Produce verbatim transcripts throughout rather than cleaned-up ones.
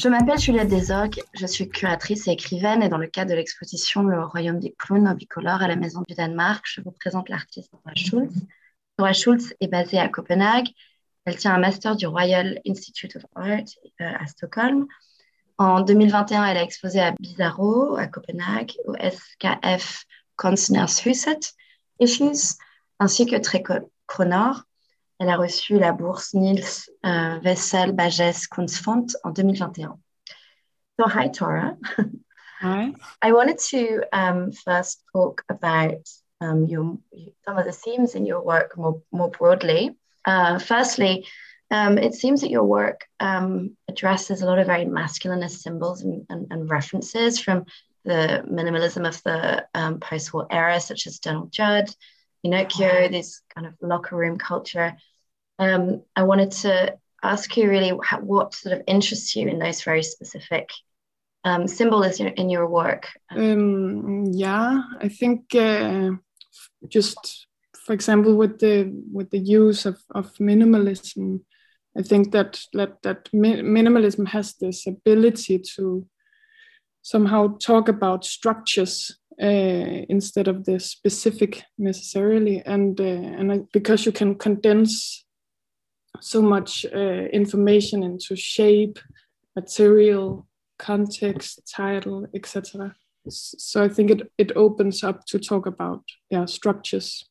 Je m'appelle Juliette Desorgues, je suis curatrice et écrivaine et dans le cadre de l'exposition Le Royaume des clowns bicolores à la Maison du Danemark, je vous présente l'artiste Nora Schultz. Nora Schultz est basée à Copenhague. Elle tient un master du Royal Institute of Art euh, à Stockholm. En deux mille vingt et un, elle a exposé à Bizarro à Copenhague, au S K F Kunstnershuset Issues, ainsi que Trekronor. Elle a reçu la bourse Niels uh, Wessel Bages Kunstfond en deux mille vingt et un. So, hi, Tora. Hi. I wanted to um, first talk about um, your, some of the themes in your work more, more broadly. Uh, firstly, um, it seems that your work um, addresses a lot of very masculinist symbols and, and, and references from the minimalism of the um, post-war era, such as Donald Judd, Pinocchio, this kind of locker room culture. Um, I wanted to ask you really how, what sort of interests you in those very specific um, symbols in, in your work. Um, yeah, I think uh, just, for example, with the with the use of, of minimalism, I think that that, that mi- minimalism has this ability to somehow talk about structures uh, instead of the specific necessarily, and uh, and I, because you can condense so much uh, information into shape, material, context, title, et cetera. So I think it it opens up to talk about yeah structures,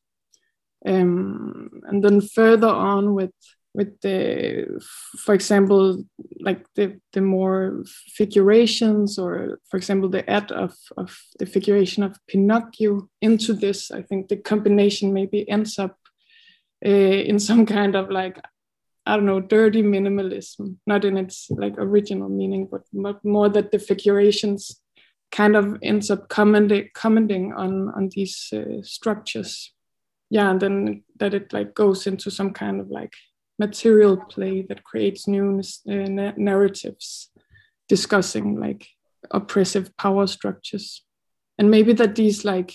um, and then further on with with the, for example, like the the more figurations, or for example the add of of the figuration of Pinocchio into this. I think the combination maybe ends up uh, in some kind of like, I don't know, dirty minimalism, not in its like original meaning, but more that the figurations kind of ends up commenting, commenting on, on these uh, structures. Yeah, and then that it like goes into some kind of like material play that creates new uh, narratives discussing like oppressive power structures. And maybe that these like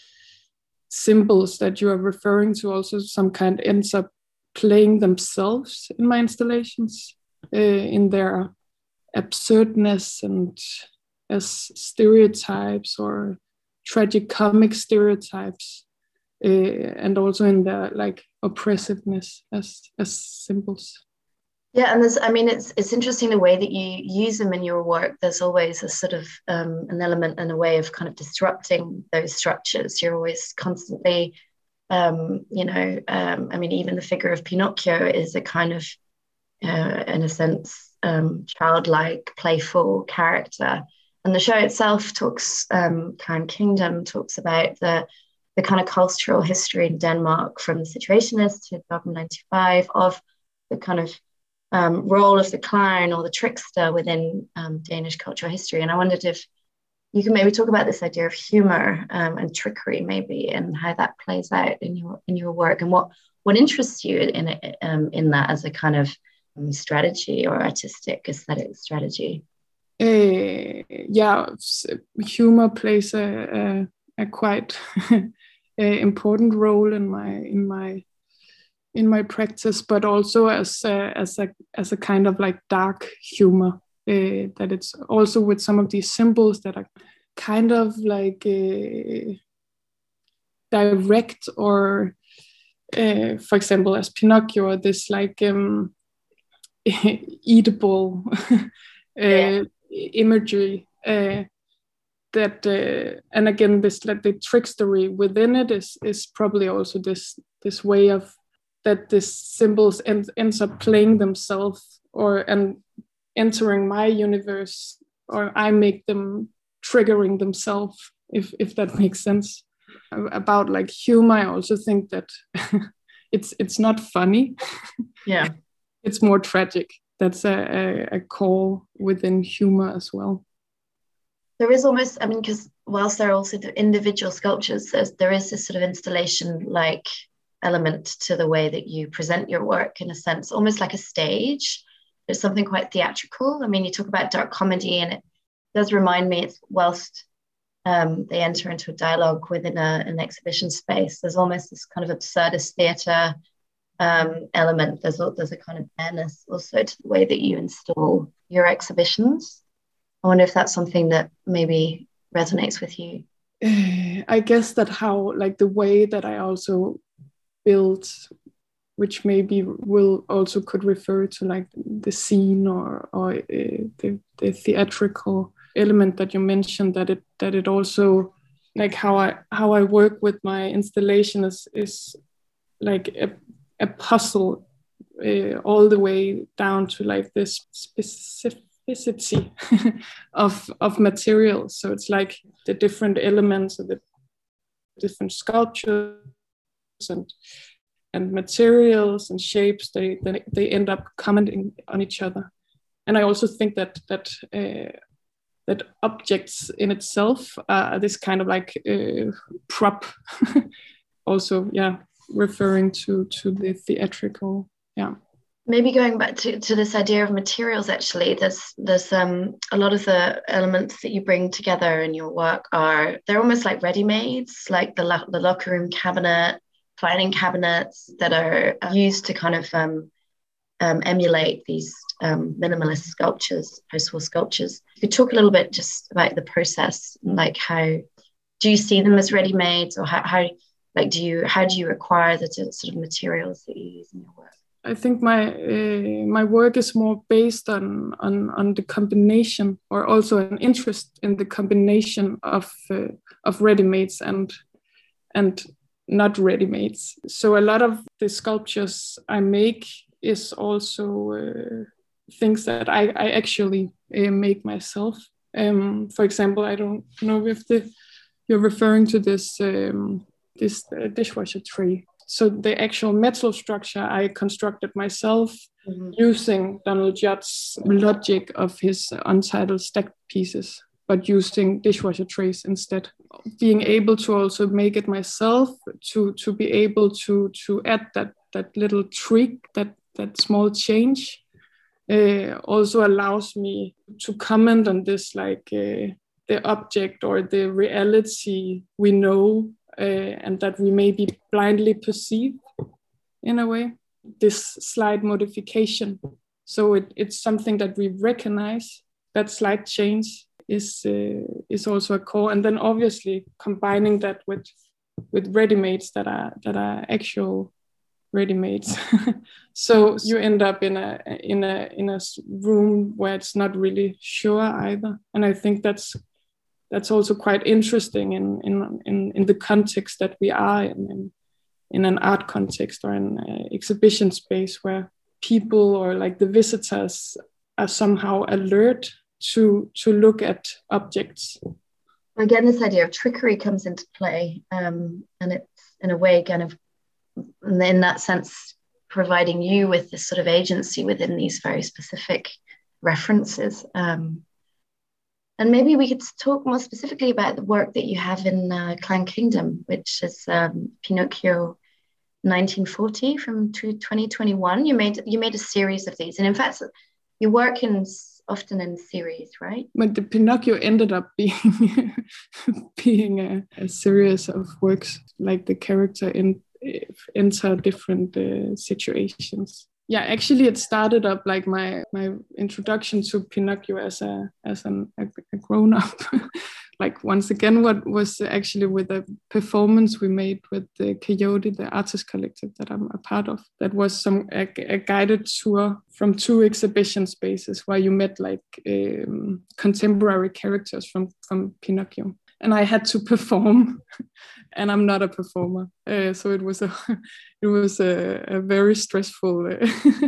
symbols that you are referring to also some kind ends up playing themselves in my installations, uh, in their absurdness and as stereotypes or tragicomic stereotypes, uh, and also in their like oppressiveness as as symbols. Yeah, and there's, I mean, it's it's interesting the way that you use them in your work. There's always a sort of um, an element and a way of kind of disrupting those structures. You're always constantly Um, you know, um, I mean, even the figure of Pinocchio is a kind of, uh, in a sense, um, childlike, playful character. And the show itself talks, um, Kind Kingdom talks about the the kind of cultural history in Denmark from the Situationists to Dogma ninety-five of the kind of um, role of the clown or the trickster within um, Danish cultural history. And I wondered if you can maybe talk about this idea of humor um, and trickery, maybe, and how that plays out in your in your work, and what what interests you in it, um, in that as a kind of um, strategy or artistic aesthetic strategy. Uh, yeah, humor plays a a, a quite a important role in my in my in my practice, but also as a, as a as a kind of like dark humor. Uh, that it's also with some of these symbols that are kind of like uh, direct, or uh, for example, as Pinocchio, this like um, eatable uh, yeah. imagery uh, that, uh, and again, this like the trickstery within it is is probably also this this way of that this symbols end, ends up playing themselves, or and entering my universe, or I make them triggering themselves, if if that makes sense. About like humor, I also think that it's it's not funny. Yeah, it's more tragic. That's a, a, a core within humor as well. There is almost, I mean, because whilst there are also the individual sculptures, there is this sort of installation-like element to the way that you present your work, in a sense, almost like a stage. There's something quite theatrical. I mean, you talk about dark comedy, and it does remind me, it's whilst um, they enter into a dialogue within a, an exhibition space, there's almost this kind of absurdist theatre um, element. There's a, there's a kind of bareness also to the way that you install your exhibitions. I wonder if that's something that maybe resonates with you. I guess that how, like the way that I also build, which maybe will also could refer to like the scene or or uh, the, the theatrical element that you mentioned, that it that it also, like how I how I work with my installation is is like a, a puzzle uh, all the way down to like this specificity of of materials. So it's like the different elements of the different sculptures and and materials and shapes, they, they they end up commenting on each other. And I also think that that uh, that objects in itself are this kind of like uh, prop, also, yeah, referring to to the theatrical, yeah. Maybe going back to, to this idea of materials, actually, there's there's um a lot of the elements that you bring together in your work are, they're almost like ready-mades, like the lo- the locker room cabinet, filing cabinets that are used to kind of um, um, emulate these um, minimalist sculptures, post-war sculptures. You could talk a little bit just about the process, like how do you see them as ready-mades, or how, how like do you how do you acquire the sort of materials that you use in your work? I think my uh, my work is more based on on on the combination, or also an interest in the combination of uh, of ready-mades and and not ready-mades. So a lot of the sculptures I make is also uh, things that I, I actually uh, make myself. Um, for example, I don't know if the, you're referring to this um, this uh, dishwasher tray. So the actual metal structure I constructed myself, mm-hmm. using Donald Judd's logic of his untitled stacked pieces, but using dishwasher trays instead. Being able to also make it myself, to to be able to to add that that little trick, that that small change, uh, also allows me to comment on this, like uh, the object or the reality we know, uh, and that we maybe blindly perceive in a way. This slight modification, so it, it's something that we recognize. That slight change is uh, is also a core, and then obviously combining that with with ready-mades that are that are actual ready-mades. So you end up in a in a in a room where it's not really sure either, and I think that's that's also quite interesting in in in, in the context that we are in, in in an art context or an uh, exhibition space, where people or like the visitors are somehow alert to to look at objects. Again, this idea of trickery comes into play, um, and it's in a way kind of, in that sense, providing you with this sort of agency within these very specific references. Um, and maybe we could talk more specifically about the work that you have in uh, Clown Kingdom, which is um, Pinocchio nineteen forty from twenty twenty-one. You made you made a series of these, and in fact, you work in often in series, right? But the Pinocchio ended up being being a, a series of works, like the character in enter different uh, situations. Yeah, actually, it started up like my my introduction to Pinocchio as a as an, a, a grown up. Like once again, what was actually with a performance we made with the Coyote, the artist collective that I'm a part of. That was some a, a guided tour from two exhibition spaces where you met like um, contemporary characters from from Pinocchio, and I had to perform, and I'm not a performer, uh, so it was a it was a, a very stressful uh,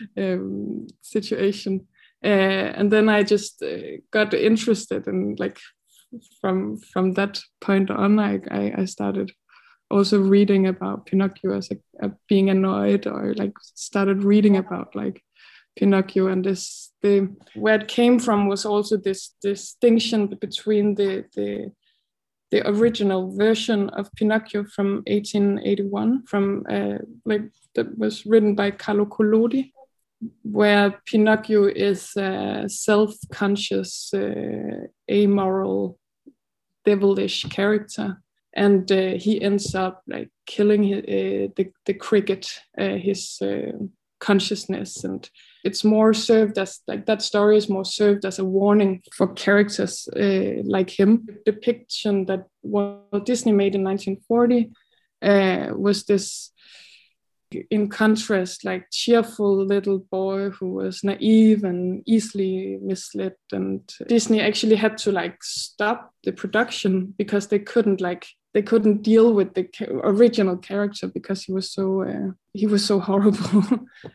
um, situation, uh, and then I just uh, got interested and like. From from that point on, I, I, I started also reading about Pinocchio as a, a being annoyed, or like started reading about like Pinocchio, and this the where it came from was also this distinction between the the the original version of Pinocchio from eighteen eighty-one, from uh, like that was written by Carlo Collodi, where Pinocchio is a self-conscious, uh, amoral, devilish character and uh, he ends up like killing his, uh, the the cricket, uh, his uh, consciousness, and it's more served as like that story is more served as a warning for characters uh, like him. The depiction that Walt Disney made in nineteen forty uh, was this, in contrast, like cheerful little boy who was naive and easily misled, and Disney actually had to like stop the production because they couldn't like they couldn't deal with the original character because he was so uh, he was so horrible.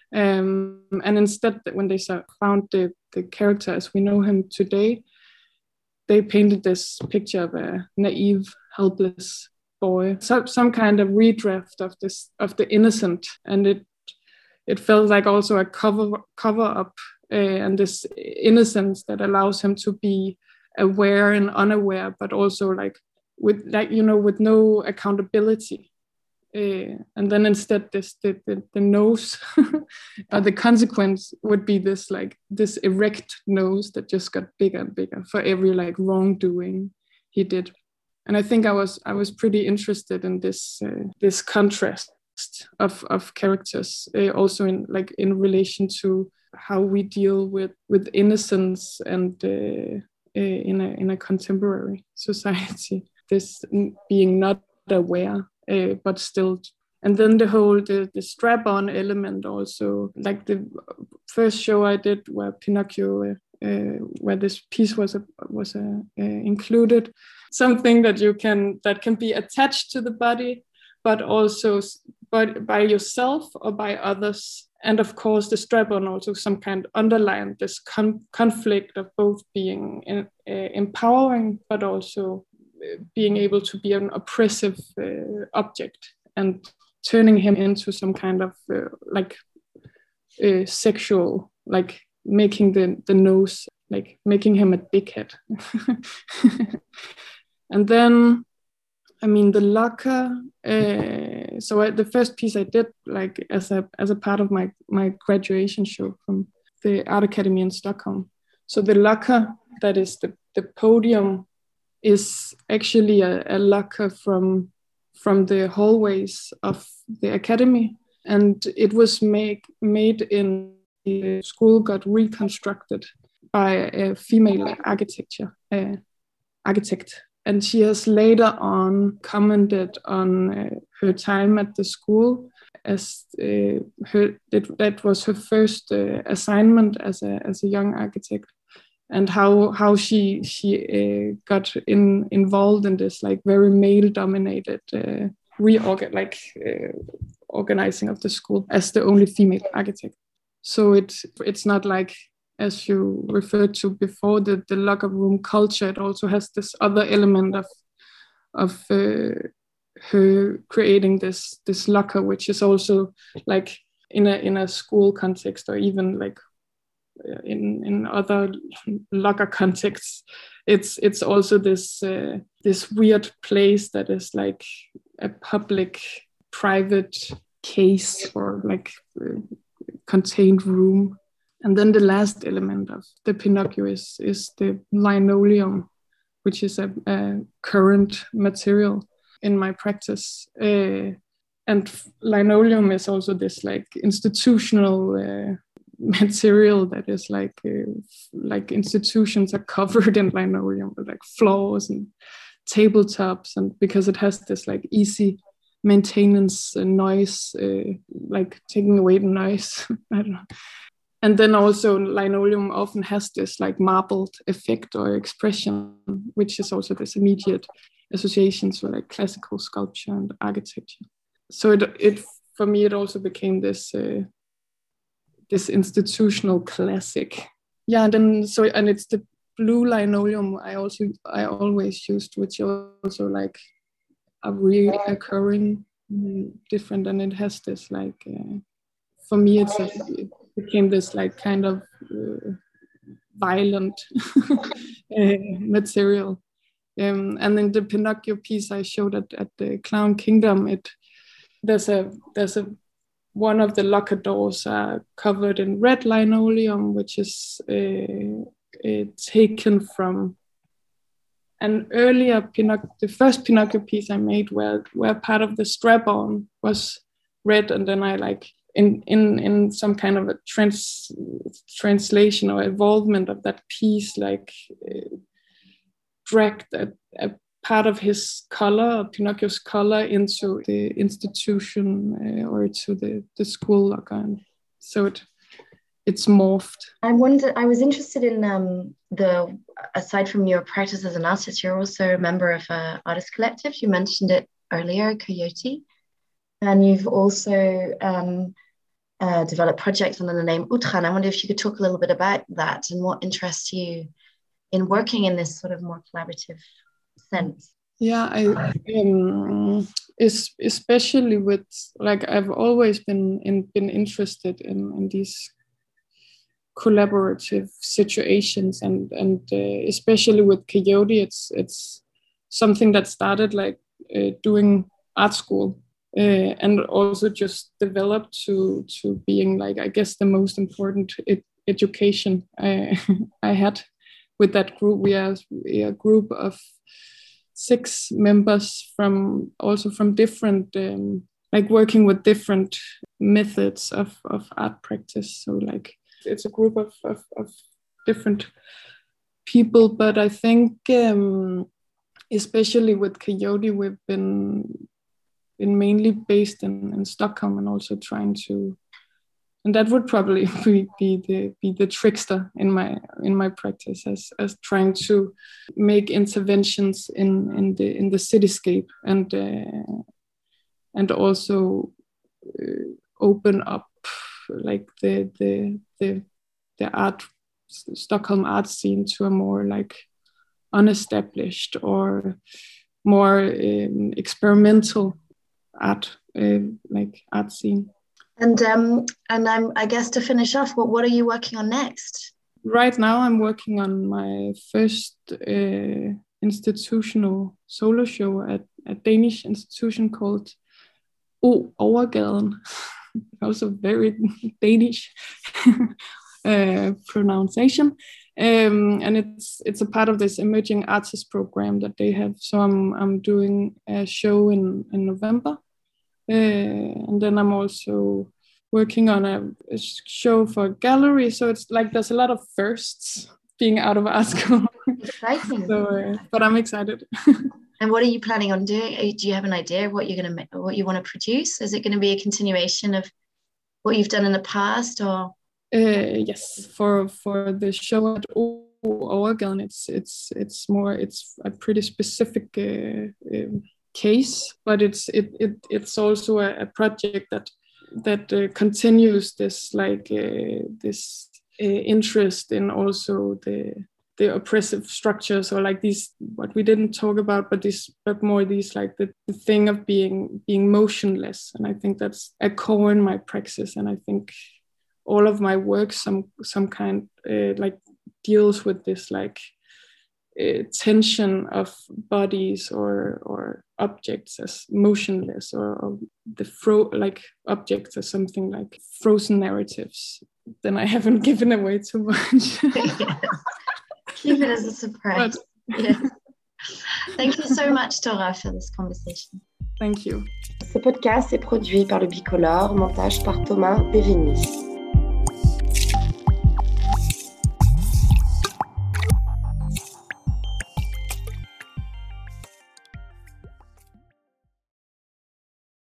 um, and instead, when they found the the character as we know him today, they painted this picture of a naive, helpless boy, so, some kind of redraft of this of the innocent, and it it felt like also a cover cover up uh, and this innocence that allows him to be aware and unaware, but also like with like you know with no accountability. Uh, and then instead, this the the, the nose, or the consequence would be this like this erect nose that just got bigger and bigger for every like wrongdoing he did. And I think I was I was pretty interested in this uh, this contrast of of characters, uh, also in like in relation to how we deal with with innocence and uh, uh, in a in a contemporary society. This being not aware, uh, but still. And then the whole the, the strap-on element also, like the first show I did where Pinocchio, uh, uh, where this piece was a, was a, uh, included, something that you can that can be attached to the body, but also but by yourself or by others. And of course, the strap-on also some kind underlined this con- conflict of both being in, uh, empowering, but also being able to be an oppressive uh, object, and turning him into some kind of uh, like uh, sexual, like making the, the nose, like making him a dickhead. And then, I mean, the locker. Uh, so I, the first piece I did, like as a as a part of my my graduation show from the Art Academy in Stockholm. So the locker, that is the the podium, is actually a, a locker from from the hallways of the academy, and it was make, made in the school got reconstructed by a female architecture uh, architect, and she has later on commented on uh, her time at the school as uh, her that, that was her first uh, assignment as a as a young architect, and how how she she uh, got in involved in this like very male dominated uh, reorgan like uh, organizing of the school as the only female architect. So it's it's not like, as you referred to before, the the locker room culture. It also has this other element of of uh, her creating this this locker, which is also like in a in a school context, or even like in in other locker contexts, it's it's also this uh, this weird place that is like a public private case, or like uh, contained room. And then the last element of the Pinocchio is is the linoleum, which is a, a current material in my practice. Uh, and linoleum is also this like institutional uh, material that is like uh, like institutions are covered in linoleum, with like floors and tabletops, and because it has this like easy maintenance and noise, uh, like taking away the noise. I don't know. And then also linoleum often has this like marbled effect or expression, which is also this immediate associations with like classical sculpture and architecture. So it it for me it also became this uh, this institutional classic. Yeah, and then so and it's the blue linoleum I also I always used, which also like a reoccurring mm, different, and it has this like uh, for me it's a, it became this like kind of uh, violent uh, material. Um, and then the Pinocchio piece I showed at, at the Clown Kingdom, it there's a there's a one of the locker doors are covered in red linoleum, which is uh, uh, taken from an earlier Pinocchio, the first Pinocchio piece I made, where where part of the strap-on was red, and then I like in in in some kind of a trans translation or evolvement of that piece, like uh, dragged a, a part of his color, Pinocchio's color, into the institution uh, or to the the school organ. So it. It's morphed. I wonder, I was interested in um, the, aside from your practice as an artist, you're also a member of an artist collective. You mentioned it earlier, Coyote. And you've also um, uh, developed projects under the name Outra. I wonder if you could talk a little bit about that and what interests you in working in this sort of more collaborative sense. Yeah, I um, is especially with, like, I've always been in, been interested in, in these collaborative situations, and and uh, especially with Coyote, it's it's something that started like uh, doing art school uh, and also just developed to to being like, I guess, the most important ed- education I, I had with that group. We are a group of six members from also from different um, like working with different methods of of art practice. So like it's a group of, of, of different people, but I think um, especially with Coyote, we've been been mainly based in, in Stockholm, and also trying to, and that would probably be, be the be the trickster in my in my practice, as as trying to make interventions in in the in the cityscape, and uh, and also uh, open up like the the the the art Stockholm art scene to a more like unestablished or more um, experimental art uh, like art scene. And um and I'm I guess to finish off, what what are you working on next? Right now I'm working on my first uh, institutional solo show at a Danish institution called O Overgaden. Also very Danish uh, pronunciation, um, and it's it's a part of this emerging artist program that they have. So I'm I'm doing a show in in November, uh, and then I'm also working on a, a show for a gallery. So it's like there's a lot of firsts being out of art school. Exciting. So, uh, but I'm excited. And what are you planning on doing? Do you have an idea of what you're going to make, what you want to produce? Is it going to be a continuation of what you've done in the past, or? Uh, yes, for for the show at Overgaden, it's it's it's more it's a pretty specific uh, um, case, but it's it, it it's also a, a project that that uh, continues this like uh, this uh, interest in also the. the oppressive structures, or like these, what we didn't talk about, but this, but more these like the, the thing of being being motionless. And I think that's a core in my praxis. And I think all of my work, some some kind uh, like deals with this like uh, tension of bodies or or objects as motionless, or, or the fro like objects as something like frozen narratives. Then I haven't given away too much. Keep it as a surprise. Yes. Thank you so much, Tora, for this conversation. Thank you. Ce podcast est produit par le Bicolore, montage par Thomas Bérénice.